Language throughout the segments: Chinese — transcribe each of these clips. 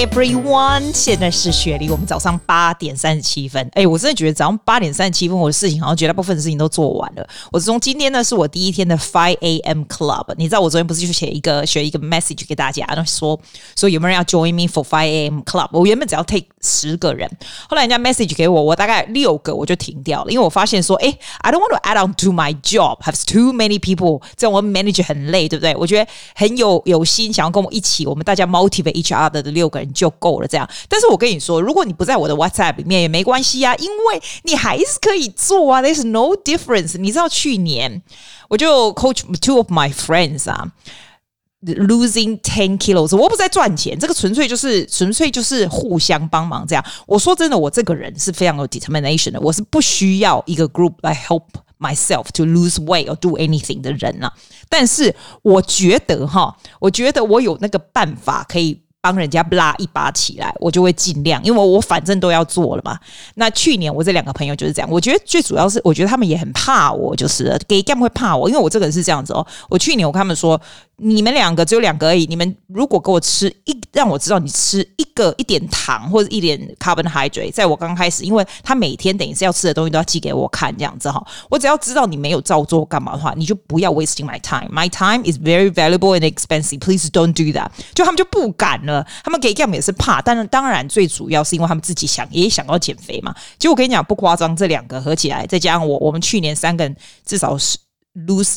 Hi everyone， 現在是雪梨，我們早上8點37分。我真的覺得早上8點37分，我的事情好像絕大部分的事情都做完了。我從今天呢是我第一天的5 a.m. club， 你知道我昨天不是就學一個 message 給大家，然後說有沒有人要 join me for 5 a.m. club？ 我原本只要 take 10個人，後來人家 message 給我，我大概6個我就停掉了，因為我發現說I don't want to add on to my job, have too many people， 這樣我 manager 很累，對不對？我覺得很有心想要跟我一起，我們大家 motivate each other 的6個人就夠了這樣。但是我跟你說，如果你不在我的 WhatsApp 裡面也沒關係啊，因為你還是可以做啊 ，there's no difference。你知道去年我就 coach 2 of my friends 啊，losing 10 kilos， 我不是在賺錢，這個純粹就是互相幫忙這樣。我說真的，我這個人是非常有 determination 的，我是不需要一個 group 來 help myself to lose weight or do anything 的人啊。但是我覺得我有那個辦法可以幫人家拉一把起來，我就會盡量，因為我反正都要做了嘛。那去年我這2個朋友就是這樣，我覺得最主要是，我覺得他們也很怕我，就是給幹會怕我，因為我這個人是這樣子哦。我去年我跟他們說，你們2個只有2個而已，你們如果給我吃讓我知道你吃一點糖或者一點 carbohydrate， 在我剛開始，因為他每天等於是要吃的東西都要寄給我看這樣子哈，我只要知道你沒有照做幹嘛的話，你就不要 wasting my time. My time is very valuable and expensive. Please don't do that. 就他們就不敢了，他們給 gam 也是怕，但是当然最主要是因為他們自己也想要減肥嘛。結果我跟你講不誇張，這2個合起來，再加上我們去年3個人至少是 lose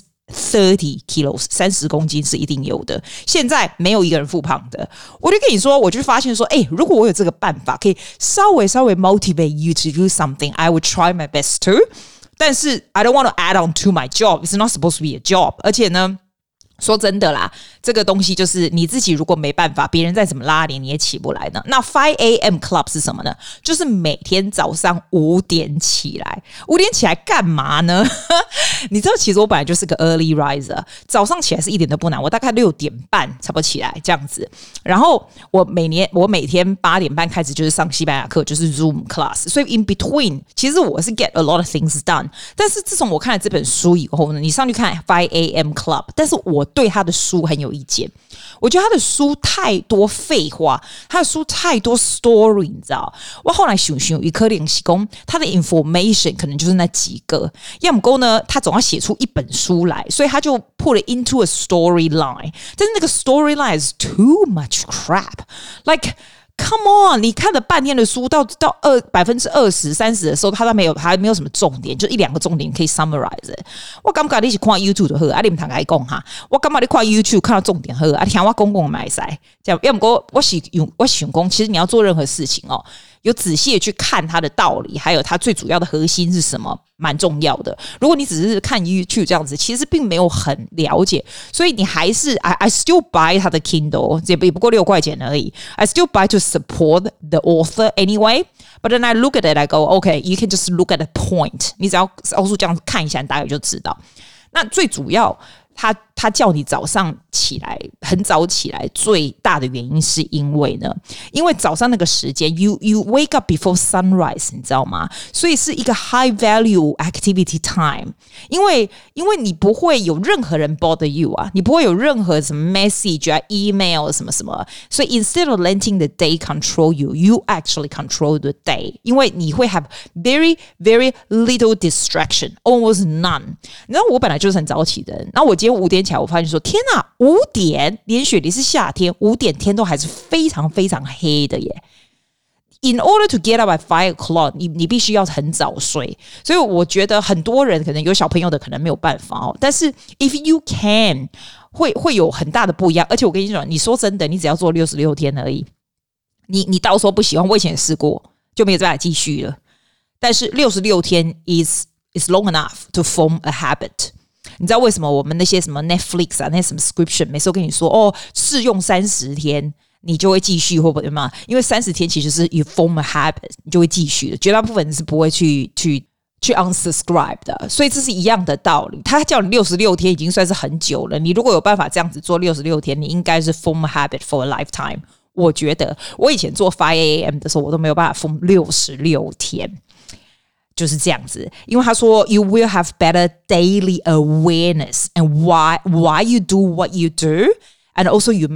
30 kilos 30公斤是一定有的，現在沒有一個人復胖的。我就跟你說，我就發現說如果我有這個辦法可以稍微 motivate you to do something, I would try my best to. 但是 I don't want to add on to my job. It's not supposed to be a job. 而且呢，說真的啦，這個東西就是你自己如果沒辦法，別人再怎麼拉你也起不來呢。那5 a.m. club 是什麼呢？就是每天早上5點起來。5點起來幹嘛呢？你知道其實我本來就是個 early riser， 早上起來是一點都不難，我大概6點半差不多起來這樣子。然後我每天8點半開始就是上西班牙課，就是 Zoom class， 所以 in between 其實我是 get a lot of things done。但是自從我看了這本書以後呢，你上去看5 a.m. club， 但是我對他的書很有意見，我覺得他的書太多廢話，他的書太多 story， 你知道？我後來想一顆練習功，他的 information 可能就是那幾個，要麼夠呢，他總要寫出一本書來，所以他就 put it into a storyline， 但是那個 storyline is too much crap，like。Come on， 你看了半天的書，到20%、30%的時候，他還沒有什麼重點，就1-2個重點可以 summarize。我感覺你是看 YouTube 就好，你不通跟我講哈。我感覺你看 YouTube 看到重點好，聽我講嘛會使。這樣，要不過我想講，其實你要做任何事情哦，有仔細的去看它的道理，還有它最主要的核心是什麼，蠻重要的。如果你只是看 YouTube 這樣子，其實並沒有很了解，所以你還是 I still buy 它的 Kindle， 也不過6塊錢而已。I still buy to support the author anyway. But then I look at it, I go, okay, you can just look at the point. 你只要奥數這樣看一下，你大概就知道。那最主要，他叫你早上起來很早起來，最大的原因是因為早上那個時間 you wake up before sunrise， 你知道嗎？所以是一個 high value activity time， 因為你不會有任何人 bother you 啊，你不會有任何什麼 message 啊 email 什麼什麼，所以 instead of letting the day control you actually control the day， 因為你會 have very very little distraction, almost none。你知道我本來就是很早起的人，然後我今天5點起來，我發現說天哪，5點連雪梨是夏天，5點天都還是非常非常黑的耶。In order to get up at 5 o'clock， 你必須要很早睡，所以我覺得很多人可能有小朋友的可能沒有辦法哦。但是 if you can， 會有很大的不一樣。而且我跟你說，你說真的，你只要做66天而已，你到時候不喜歡，我以前也試過，就沒有辦法繼續了。但是66天 is long enough to form a habit。你知道為什麼我們那些什麼 Netflix 啊，那些什麼 subscription 每次都跟你說試用30天你就會繼續，會不會嘛？因為30天其實是 you form a habit， 你就會繼續的，絕大部分人是不會去 unsubscribe 的，所以這是一樣的道理。他叫你66天已經算是很久了，你如果有辦法這樣子做66天，你應該是 form a habit for a lifetime。我覺得我以前做5 a.m. 的時候，我都沒有辦法 form 66天。就是這樣子，因為他說 you will have better daily awareness and why you do what you do, and also you make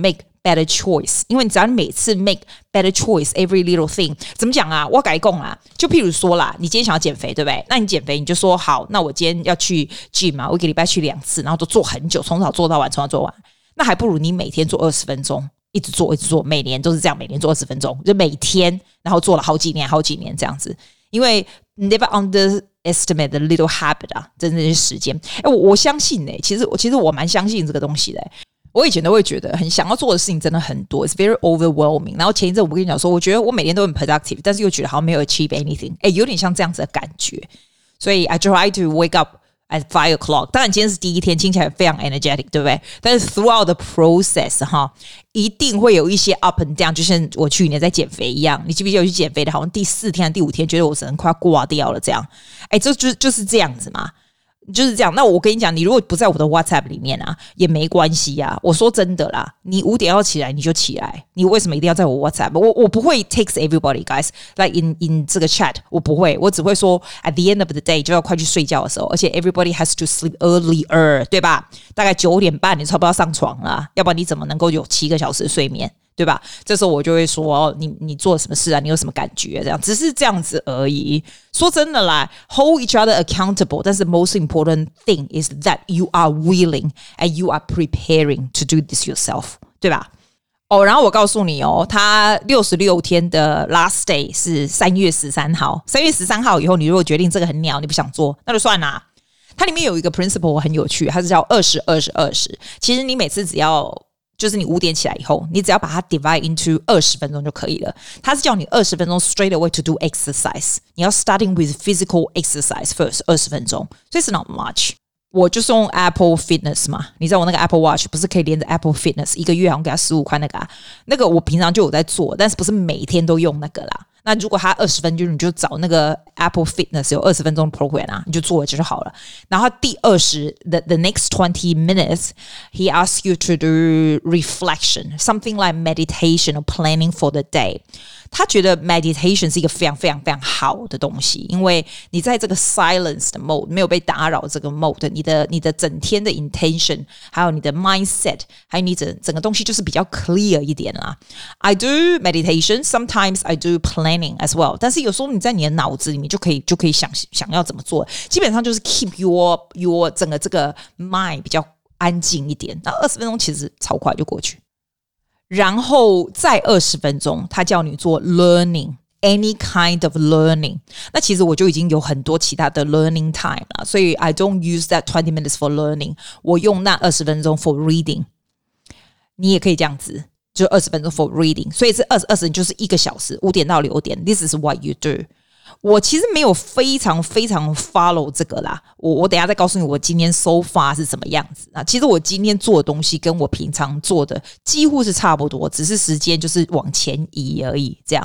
better choice， 因為你只要你每次 make better choice every little thing， 怎麼講啊？我改講啊，就譬如說啦，你今天想要減肥，對不對？那你減肥你就說好，那我今天要去 gym 啊，我一個禮拜去2次，然後都做很久，從早做到晚，從早做完，那還不如你每天做20分鐘，一直做，每年都是這樣，每年做20分鐘，就每天，然後做了好幾年這樣子，因為 never underestimate the little habit 啊，真的是時間。我相信其實我蠻相信這個東西的。我以前都會覺得很想要做的事情真的很多 ，it's very overwhelming。然後前一陣我跟你講說，我覺得我每天都很 productive， 但是又覺得好像沒有 achieve anything， 有點像這樣子的感覺。所以 I try to wake up at 5 o'clock。當然今天是第一天，聽起來非常 energetic， 對不對？但是 throughout the process 哈，一定會有一些 up and down， 就像我去年在減肥一樣。你記不記得我去減肥的，好像第4天、第5天，覺得我整個快要掛掉了這樣。就是這樣子嘛。就是這樣，那我跟你講，你如果不在我的 WhatsApp 裡面啊，也沒關係啊。我說真的啦，你5點要起來你就起來，你為什麼一定要在我 WhatsApp？ 我不會 text everybody guys like in 這個 chat， 我不會，我只會說 at the end of the day 就要快去睡覺的時候，而且 everybody has to sleep earlier， 對吧？大概9點半你差不多要上床了，要不然你怎麼能夠有7個小時的睡眠？對吧？這時候我就會說，你做了什麼事啊？你有什麼感覺？這樣只是這樣子而已。說真的啦 ，hold each other accountable。但是 most important thing is that you are willing and you are preparing to do this yourself， 對吧？然後我告訴你他66天的 last day 是3月13號。3月13號以後，你如果決定這個很鳥，你不想做，那就算啦。它裡面有一個 principle 很有趣，它是叫20-20-20。其實你每次只要就是你5點起來以後，你只要把它 divide into 20分鐘就可以了。它是叫你20分鐘 straight away to do exercise。你要 starting with physical exercise first 20分鐘，所以是 not much。我就是用 Apple Fitness 嘛，你知道我那個 Apple Watch 不是可以連着 Apple Fitness 1個月好像給他15塊那個我平常就有在做，但是不是每天都用那個啦。那如果他20分鐘，你就找那個 Apple Fitness 有20分鐘的 program 啊，你就做了就好了。然後第20 the next 20 minutes he asks you to do reflection, something like meditation or planning for the day。他覺得 meditation 是一個非常非常非常好的東西，因為你在這個 silence 的 mode 沒有被打擾這個 mode， 你的整天的 intention， 還有你的 mindset， 還有你整個東西就是比較 clear 一點啦。I do meditation, sometimes I do planning as well， 但是有時候你在你的腦子裡面就可以想要怎麼做，基本上就是 keep your 整個這個 mind 比較安靜一點。那20分鐘其實超快就過去。然後再20分鐘，他叫你做 learning, any kind of learning。那其實我就已經有很多其他的 learning time 了，所以 I don't use that 20 minutes for learning。我用那20分鐘 for reading。你也可以這樣子，就20分鐘 for reading。所以這20就是1個小時，5點到6點。This is what you do。我其實沒有非常非常 follow 這個啦，我等一下再告訴你我今天 so far 是怎麼樣子啊。其實我今天做的東西跟我平常做的幾乎是差不多，只是時間就是往前移而已。這樣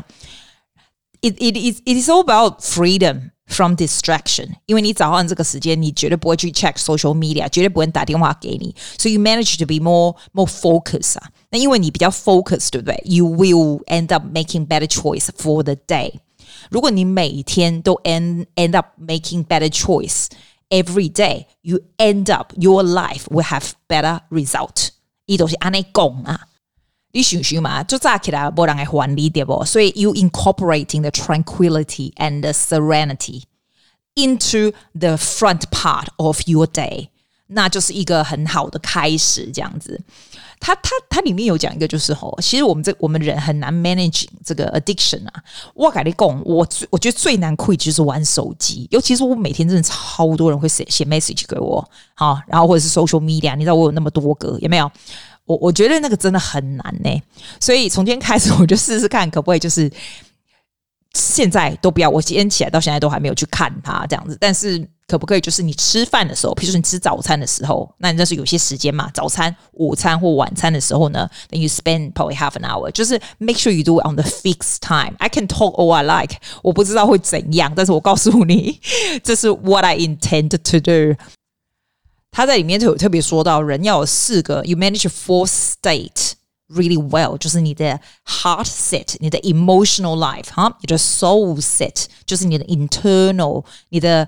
it is all about freedom from distraction， 因為你早上這個時間你絕對不會去 check social media， 絕對不會打電話給你，所以 you manage to be more focused 啊。那因為你比較 focused， 對不對？ You will end up making better choice for the day。如果你每天都 end up making better choice every day, you end up your life will have better result。伊都是安尼講啊，你想想嘛，就早起來沒人會還你，對不？所以 you incorporating the tranquility and the serenity into the front part of your day， 那就是一個很好的開始，這樣子。它裡面有講一個，就是其實我們人很難 manage 這個 addiction 啊。我跟你講，我覺得最難 quit 就是玩手機，尤其是我每天真的超多人會寫 message 給我，好，然後或者是 social media， 你知道我有那麼多個，有沒有？我覺得那個真的很難呢，所以從今天開始我就試試看可不可以就是現在都不要，我今天起來到現在都還沒有去看它這樣子，但是可不可以就是你吃飯的時候，比如說你吃早餐的時候，那你就是有些時間嘛，早餐、午餐或晚餐的時候呢， then you spend probably half an hour， 就是 make sure you do it on the fixed time。 I can talk all I like， 我不知道會怎樣，但是我告訴你，這是 what I intend to do。他在裡面就有特別說到，人要有4個 ，you manage 4 state really well， 就是你的 heart set， 你的 emotional life 哈，你的 soul set， 就是你的 internal， 你的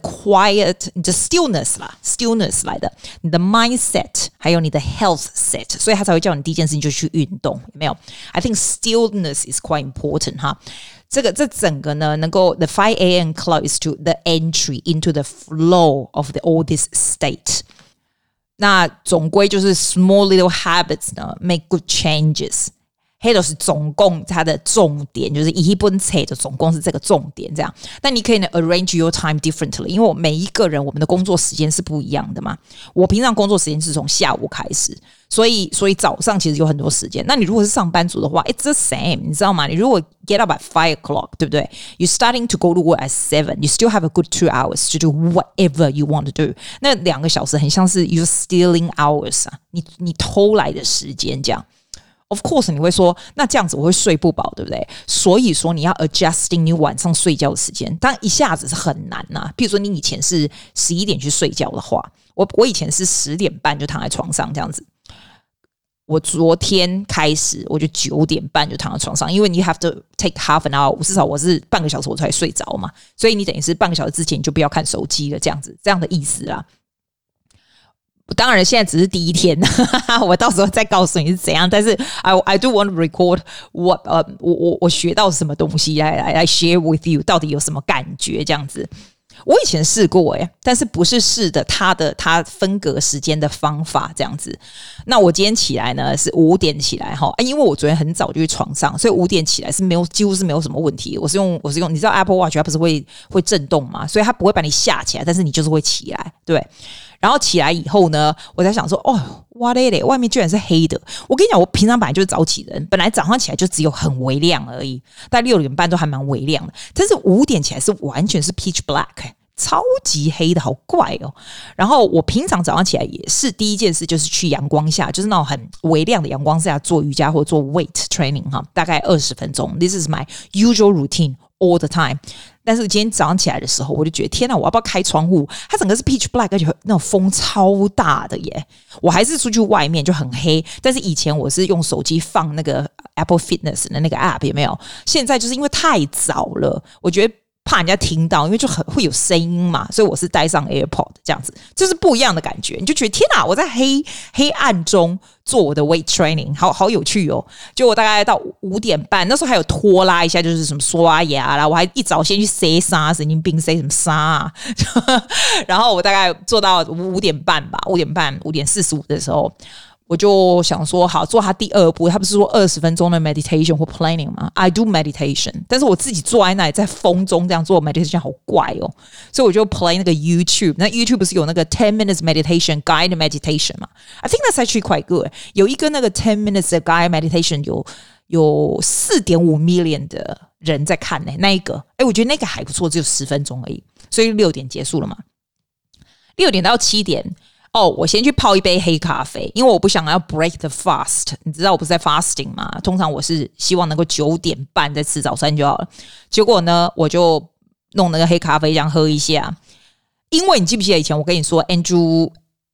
quiet， 你的 stillness 啦 ，stillness 来的，你的 mindset， 还有你的 health set， 所以他才会叫你第一件事情就去運動，有沒有 ？I think stillness is quite important 哈。這整個呢，能夠 the 5 a.m. club is to the entry into the flow of all this state。那總歸就是 small little habits 呢 make good changes， 黑都是總共它的重點，就是一本冊的總共是這個重點這樣。但你可以呢 arrange your time differently， 因為我每一個人我們的工作時間是不一樣的嘛。我平常工作時間是從下午開始，所以早上其實有很多時間。那你如果是上班族的話 ，it's the same， 你知道嗎？你如果 get up at 5 o'clock， 對不對 ？You starting to go to work at 7， you still have a good 2 hours to do whatever you want to do。那2個小時很像是 you stealing hours 啊，你偷來的時間这樣。Of course， 你會說，那這樣子我會睡不飽，對不對？所以說你要 adjusting 你晚上睡覺的時間，當然一下子是很難吶。譬如說你以前是11點去睡覺的話，我以前是10點半就躺在床上這樣子。我昨天開始我就9點半就躺在床上，因為你 have to take half an hour， 至少我是半個小時我才睡着嘛，所以你等於是半個小時之前你就不要看手機了，這樣的意思啦。當然現在只是第一天我到時候再告訴你是怎樣，但是 I do want to record what 我學到什麼東西來 share with you， 到底有什麼感覺這樣子。我以前試過但是不是試的他分隔時間的方法這樣子。那我今天起來呢是5點起來因為我昨天很早就去床上，所以5點起來是幾乎是沒有什麼問題。我是用你知道 Apple Watch 它不是會震動嘛，所以它不會把你嚇起來，但是你就是會起來，對。然後起來以後呢，我在想說哇嘞嘞，外面居然是黑的。我跟你講，我平常本來就是早起人，本來早上起來就只有很微亮而已，大概6點半都還蠻微亮的。但是5點起來是完全是 pitch black， 超級黑的，好怪哦。然後我平常早上起來也是第一件事就是去陽光下，就是那種很微亮的陽光下做瑜伽或做 weight training 大概20分鐘。This is my usual routine all the time。但是今天早上起來的時候，我就覺得天哪，我要不要開窗戶？它整個是 pitch black， 而且那種風超大的耶！我還是出去外面就很黑。但是以前我是用手機放那個 Apple Fitness 的那個 app， 有沒有？現在就是因為太早了，我覺得怕人家聽到，因為就很會有聲音嘛，所以我是戴上 AirPod 這樣子，就是不一樣的感覺。你就覺得天哪，我在黑暗中做我的 weight training， 好有趣哦！就我大概到5點半，那時候還有拖拉一下，就是什麼刷牙啦，我還一早先去塞沙，神經病塞什麼沙啊？然後我大概做到5點半吧，5點45的時候。我就想說好做他第2步，他不是說20分鐘的 meditation 或 planning 嗎？ I do meditation， 但是我自己坐在那裡在風中這樣做 meditation 好怪哦，所以我就 play 那個 YouTube， 那 YouTube 不是有那個10 minutes meditation guided meditation 嘛？ I think that's actually quite good。 有一個那個10 minutes 的 guided meditation 有 4.5 million 的人在看那一個，我覺得那個還不錯，只有10分鐘而已，所以6點結束了嘛。6點到7點我先去泡一杯黑咖啡，因為我不想要 break the fast。你知道我不是在 fasting 嗎？通常我是希望能夠9點半再吃早餐就好了。結果呢，我就弄那個黑咖啡這樣喝一下。因為你記不記得以前我跟你說 Andrew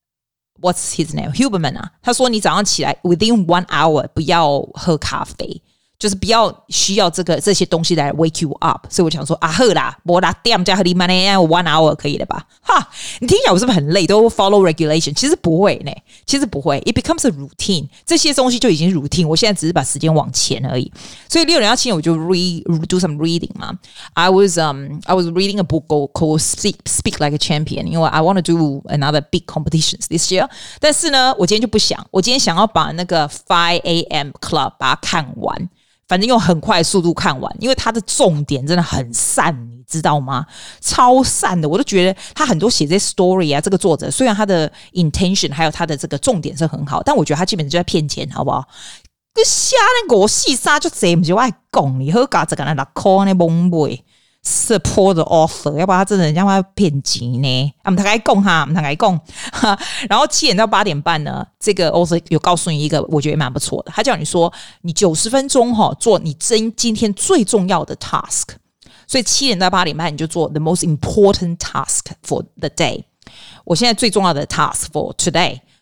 what's his name Huberman 啊，他說你早上起來 within 1 hour 不要喝咖啡，就是不要需要這些東西來 wake you up。所以我想說好啦，我6點加喝你慢1 hour 可以了吧？哈，你聽起來我是不是很累？都 follow regulation？ 其實不會呢，其實不會。It becomes a routine， 這些東西就已經 routine。我現在只是把時間往前而已。所以6點到7點我就 do some reading 嘛。I was reading a book called Speak Like a Champion， 因為 I want to do another big competitions this year。但是呢，我今天就不想，我今天想要把那個5 a.m. club 把它看完。反正用很快的速度看完，因為它的重點真的很散，你知道嗎？超散的，我都覺得他很多寫這些 story 啊，這個作者雖然他的 intention 還有他的這個重點是很好，但我覺得他基本上就在騙錢，好不好？你瞎那個細沙就這不是我愛講，你喝咖這個那6塊那懵背。support the offer， 要不然他真的讓他騙錢呢。我們大概講哈，我們大概講。然後7點到8點半呢，這個 author 有告訴你一個，我覺得蠻不錯的。他叫你說，你90分鐘做你今天最重要的 task。所以7點到8點半你就做 the most important task for the day。我現在最重要的 task for today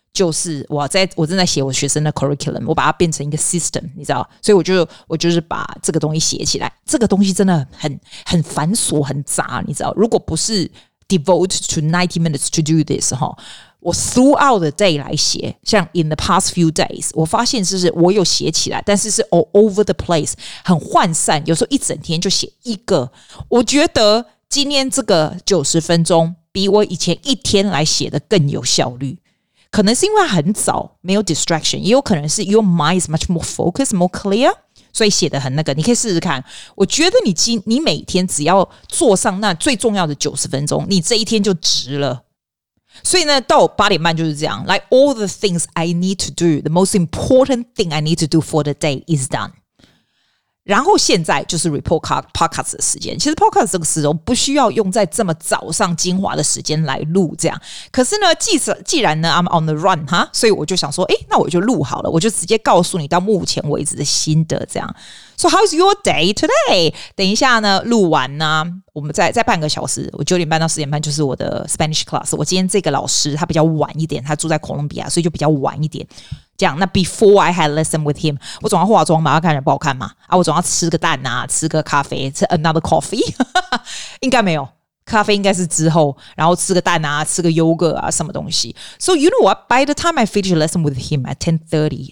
就是我正在寫我學生的 curriculum， 我把它變成一個 system， 你知道，所以我就是把這個東西寫起來。這個東西真的很繁瑣很雜，你知道，如果不是 devote to 90 minutes to do this 我 throughout the day 來寫，像 in the past few days， 我發現是我有寫起來，但是 all over the place， 很渙散，有時候一整天就寫一個。我覺得今天這個90分鐘比我以前一天來寫的更有效率。可能是因為很早沒有 distraction， 也有可能是 your mind is much more focused, more clear， 所以寫得很那個。你可以試試看，我覺得你每天只要做上那最重要的90分鐘，你這一天就值了。所以呢，到8點半就是這樣。Like all the things I need to do, the most important thing I need to do for the day is done。然後現在就是 report podcast 的時間。其實 podcast 這個時候不需要用在這麼早上精華的時間來錄這樣。可是呢，既然呢 I'm on the run 哈，所以我就想說，那我就錄好了，我就直接告訴你到目前為止的心得這樣。So how's your day today？ 等一下呢，錄完呢，我們再半個小時，我9點半到10點半就是我的 Spanish class。我今天這個老師他比較晚一點，他住在哥倫比亞，所以就比較晚一點。這樣，那 before I had lesson with him， 我總要化妝嘛，要看起來不好看嘛，我總要吃個蛋啊，吃個咖啡，吃 another coffee， 應該沒有，咖啡應該是之後，然後吃個蛋啊，吃個 yogurt 啊，什麼東西。So you know what? By the time I finish lesson with him at 10:30,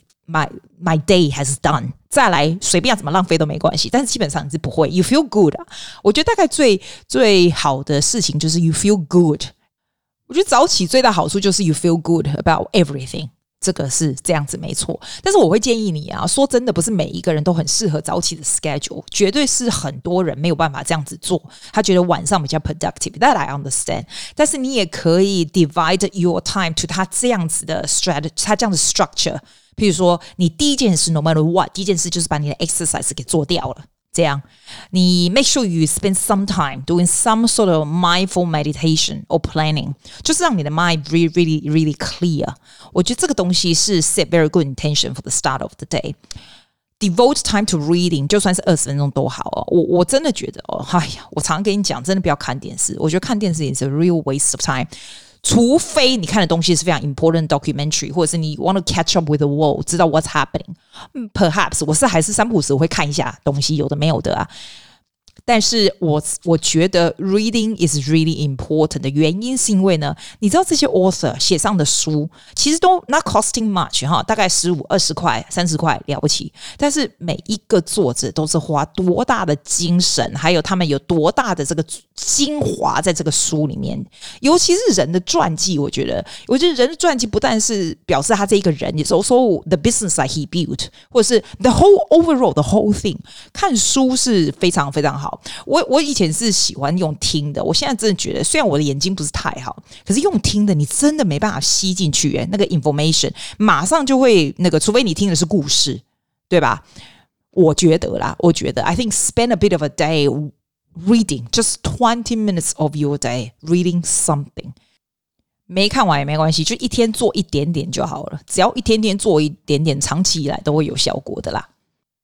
my day has done。再來隨便怎麼浪費都沒關係，但是基本上你是不會。You feel good 啊？我覺得大概最好的事情就是 you feel good。我覺得早起最大好處就是 you feel good about everything。這個是這樣子沒錯，但是我會建議你啊，說真的，不是每一個人都很適合早起的 schedule， 絕對是很多人沒有辦法這樣子做，他覺得晚上比較 productive，that I understand。但是你也可以 divide your time to 他這樣子的 strategy， 他這樣的 structure。譬如說，你第一件事 no matter what， 第一件事就是把你的 exercise 給做掉了。這樣，你 make sure you spend some time doing some sort of mindful meditation or planning， 就是讓你的 mind really clear。我覺得這個東西是 set very good intention for the start of the day。Devote time to reading， 就算是20分鐘都好哦。我真的覺得我常常跟你講，真的不要看電視。我覺得看電視也是 a real waste of time。除非你看的東西是非常 important documentary， 或者是你 want to catch up with the world， 知道 what's happening。Perhaps 我還是3不5時我會看一下東西，有的沒有的啊。但是我覺得 reading is really important 的原因是因為呢，你知道這些 author 寫上的書其實都 not costing much 哈，大概15、20塊、30塊了不起。但是每一個作者都是花多大的精神，還有他們有多大的這個精華在這個書裡面。尤其是人的傳記，我覺得人的傳記不但是表示他這一個人，也是 also the business that he built， 或者是 the whole overall the whole thing。看書是非常非常好。我以前是喜歡用聽的，我現在真的覺得，雖然我的眼睛不是太好，可是用聽的你真的沒辦法吸進去，那個 information 馬上就會那個，除非你聽的是故事，對吧？我覺得 I think spend a bit of a day reading, just 20 minutes of your day reading something。沒看完也沒關係，就一天做一點點就好了，只要一天天做一點點，長期以來都會有效果的啦。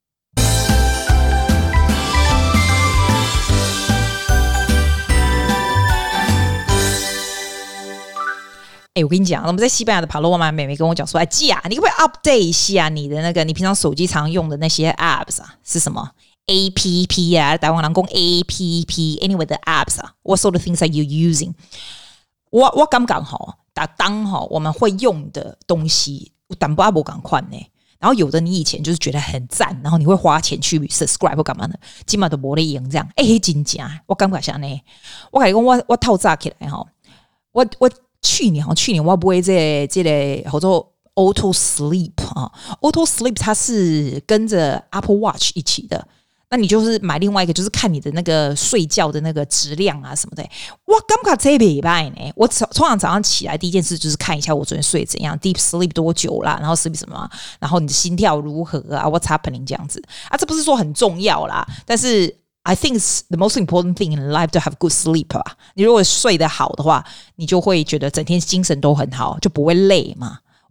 我跟你講，我們在西班牙的帕洛瑪妹妹跟我講說，季啊，你可不可以 update 一下你的那個你平常手機常用的那些 apps 啊？是什麼 APP 啊？台灣人講 APP，anyway 的 apps 啊 ，what sort of things are you using？ 我剛剛好，當我們會用的東西，但不趕快呢。然後有的你以前就是覺得很讚，然後你會花錢去 subscribe 或幹嘛的，今嘛都沒得用這樣。真正我感覺像呢，我跟你講，我透早起來哈，我去年我不會這個叫做 Auto Sleep 啊 ，Auto Sleep 它是跟着 Apple Watch 一起的。那你就是買另外一個，就是看你的那個睡覺的那個質量啊什麼的。我感覺這禮拜呢，我通常早上起來第一件事就是看一下我昨天睡怎樣 ，Deep Sleep 多久啦，然後 sleep 什麼，然後你的心跳如何啊 ，What's happening 這樣子啊，這不是說很重要啦，但是。I think it's the most important thing in life to have good sleep 啊。你如果睡得好的話，你就會覺得整天精神都很好，就不會累嘛。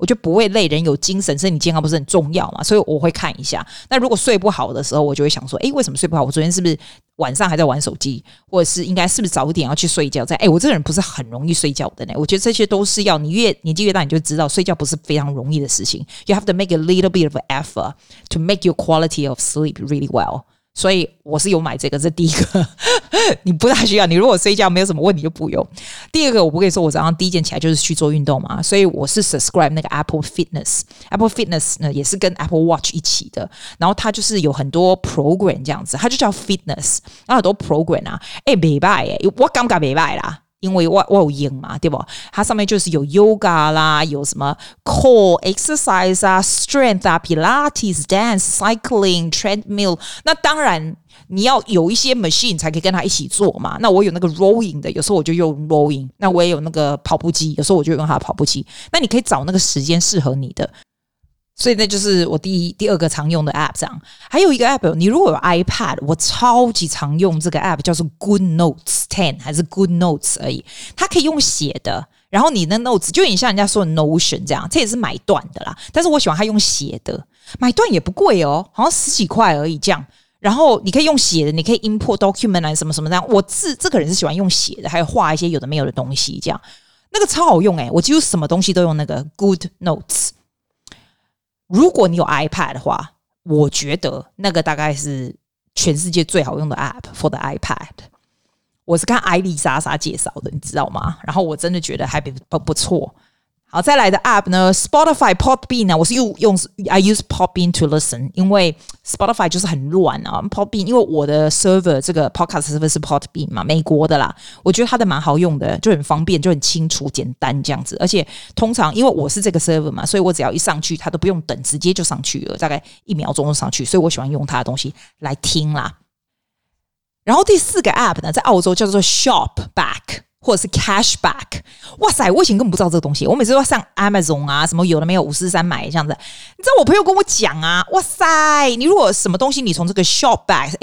我覺得不會累，人有精神，身體健康不是很重要嘛，所以我會看一下。那如果睡不好的時候，我就會想說，為什麼睡不好？我昨天是不是晚上還在玩手機，或者是應該是不是早一點要去睡覺？我這個人不是很容易睡覺的呢。我覺得這些都是要你越年紀越大，你就知道睡覺不是非常容易的事情。You have to make a little bit of effort to make your quality of sleep really well。所以我是有買這個，這是第一個。你不大需要，你如果睡覺沒有什麼問題就不用。第二個，我不跟你說，我早上第一件起來就是去做運動嘛，所以我是 subscribe 那個 Apple Fitness。Apple Fitness 呢也是跟 Apple Watch 一起的，然後它就是有很多 program 這樣子，它就叫 Fitness， 然後很多 program 啊，不錯我感覺不錯啦。因為我有用嘛，對不？它上面就是有 yoga 啦，有什麼 core exercise 啊 ，strength 啊 ，pilates dance，cycling，treadmill。那當然你要有一些 machine 才可以跟它一起做嘛。那我有那個 rowing 的，有時候我就用 rowing。那我也有那個跑步機，有時候我就用它的跑步机。那你可以找那個时間適合你的。所以那就是我第二個常用的 app 這樣。還有一個 app， 你如果有 iPad， 我超級常用這個 app， 叫做 Good Notes 10還是 Good Notes 而已。它可以用寫的，然後你的 notes 就有點像人家說的 Notion 這樣，這也是買斷的啦。但是我喜歡它用寫的，買斷也不貴哦，好像10幾塊而已這樣。然後你可以用寫的，你可以 import document 啊什麼什麼這樣。我這個人是喜歡用寫的，還有畫一些有的沒有的東西這樣。那個超好用我幾乎什麼東西都用那個 Good Notes。如果你有 iPad 的話，我覺得那個大概是全世界最好用的 app for the iPad。我是看艾麗莎莎介紹的，你知道嗎？然後我真的覺得還不錯。好，再來的 app 呢 ，Spotify Podbean 呢，我是用 I use Podbean to listen， 因為 Spotify 就是很亂啊。Podbean 因為我的 server 這個 podcast server 是 Podbean 嘛，美國的啦，我覺得它的蠻好用的，就很方便，就很清楚簡單這樣子。而且通常因為我是這個 server 嘛，所以我只要一上去，它都不用等，直接就上去了，大概1秒鐘就上去，所以我喜歡用它的東西來聽啦。然後第4個 app 呢，在澳洲叫做 Shopback。或者是 Cashback， 哇塞！我以前根本不知道這個東西，我每次都要上 Amazon 啊，什麼有的沒有543買這樣子。你知道我朋友跟我講啊，哇塞！你如果什麼東西你從這個 Shopback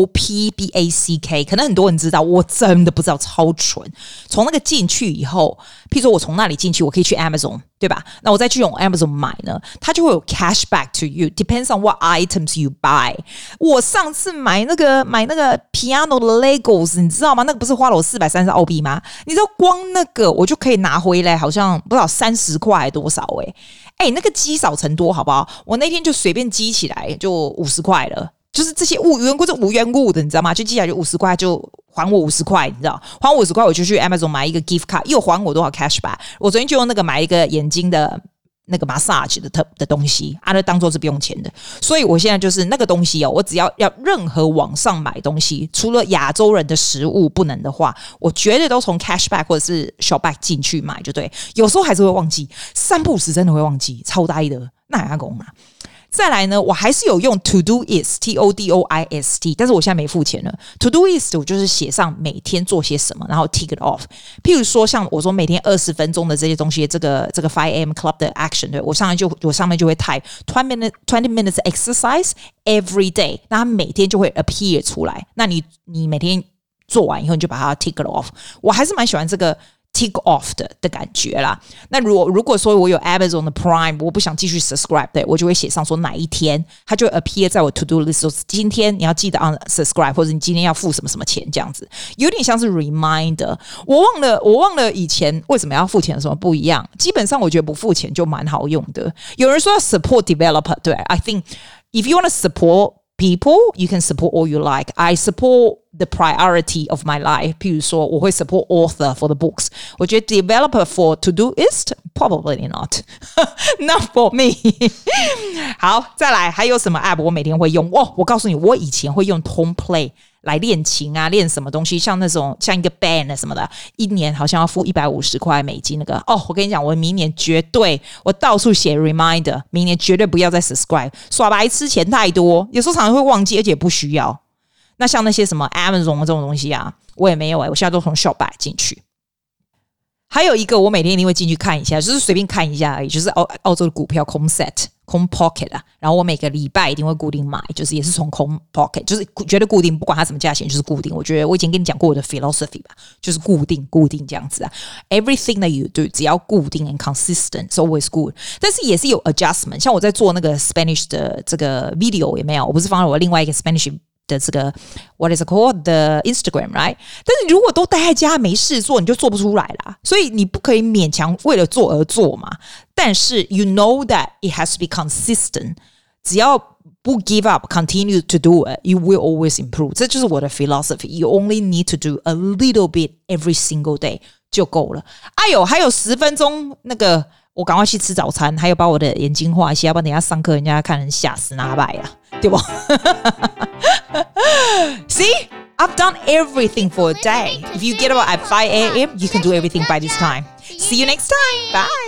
SHOPBACK， 可能很多人知道，我真的不知道，超蠢。從那個進去以後，譬如說我從那裡進去，我可以去 Amazon， 對吧？那我再去用 Amazon 買呢，它就會有 Cashback to you， depends on what items you buy。我上次買那個 piano 的 Legos， 你知道嗎？那個不是花了我430澳幣嗎？你知道光那個我就可以拿回來，好像不知道30塊還多少那個積少成多，好不好？我那天就隨便積起來就50塊了，就是這些無緣故的，你知道嗎？就積起來就50塊，就還我50塊，你知道？還我50塊，我就去 Amazon 買一個 gift card， 又還我多少 cashback？ 我昨天就用那個買一個眼睛的那個 massage 的東西，那當做是不用錢的。所以我現在就是那個東西我只要任何網上買東西，除了亞洲人的食物不能的話，我絕對都從 cashback 或者是 shopback 進去買就对。有时候還是會忘記，3不5時真的會忘記，超呆的，那也要講啦。再來呢，我還是有用 Todoist TODOIST， 但是我現在沒付錢了。Todoist 我就是寫上每天做些什麼，然後 tick it off。譬如說像我說每天20分鐘的這些東西，這個 5am club 的 action， 對，我上面就會 type 20 minutes exercise every day， 那它每天就會 appear 出來。那你每天做完以後，你就把它 tick it off。我還是蠻喜歡這個tick off 的感覺啦。那如果說我有 Amazon 的 Prime， 我不想繼續 subscribe， 對，我就會寫上說哪一天它就會 appear 在我 to do list， 說今天你要記得 unsubscribe， 或者你今天要付什麼什麼錢這樣子，有點像是 reminder。我忘了以前為什麼要付錢有什麼不一樣。基本上我覺得不付錢就蠻好用的。有人說要 support developer， 對 ，I think if you want to support people, you can support all you like. I support the priority of my life. 譬如說，我會 support author for the books. 我覺得 developer for Todoist, probably not. Not for me. 好，再來，還有什麼 app 我每天會用？我告訴你，我以前會用 Tone Play 來練琴啊，練什麼東西，像那種像一個 band 什麼的，一年好像要付150塊美金那個。我跟你講，我明年絕對，我到處寫 reminder， 明年絕對不要再 subscribe， 耍白痴錢太多，有時候常常會忘記，而且不需要。那像那些什麼 Amazon 這種東西啊，我也沒有我現在都從 Shopback 進去。還有一個我每天一定會進去看一下，就是隨便看一下而已，就是澳洲的股票 Comset 空 pocket 啊，然後我每個禮拜一定會固定買，就是也是從空 pocket， 就是絕對固定，不管它什麼價錢，就是固定。我覺得我以前跟你講過我的 philosophy 吧，就是固定這樣子啊。Everything that you do， 只要固定 and consistent， is always good。但是也是有 adjustment， 像我在做那個 Spanish 的這個 video 有沒有？我不是放了我另外一個 Spanish。的這個 what is it called the Instagram right？ 但是如果都待在家沒事做，你就做不出來啦。所以你不可以勉強為了做而做嘛。但是 you know that it has to be consistent。只要不 give up, continue to do it, you will always improve。这就是我的 philosophy. You only need to do a little bit every single day 就夠了。哎呦，還有10分鐘那個。我趕快去吃早餐，還有把我的眼睛畫一下，要不然等一下上課人家看人嚇死哪擺啊，對不？See, I've done everything for a day. If you get up at 5 a.m., you can do everything by this time. See you next time. Bye.